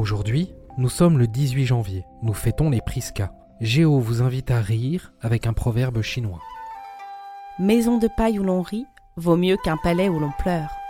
Aujourd'hui, nous sommes le 18 janvier, nous fêtons les Prisca. Géo vous invite à rire avec un proverbe chinois. Maison de paille où l'on rit vaut mieux qu'un palais où l'on pleure.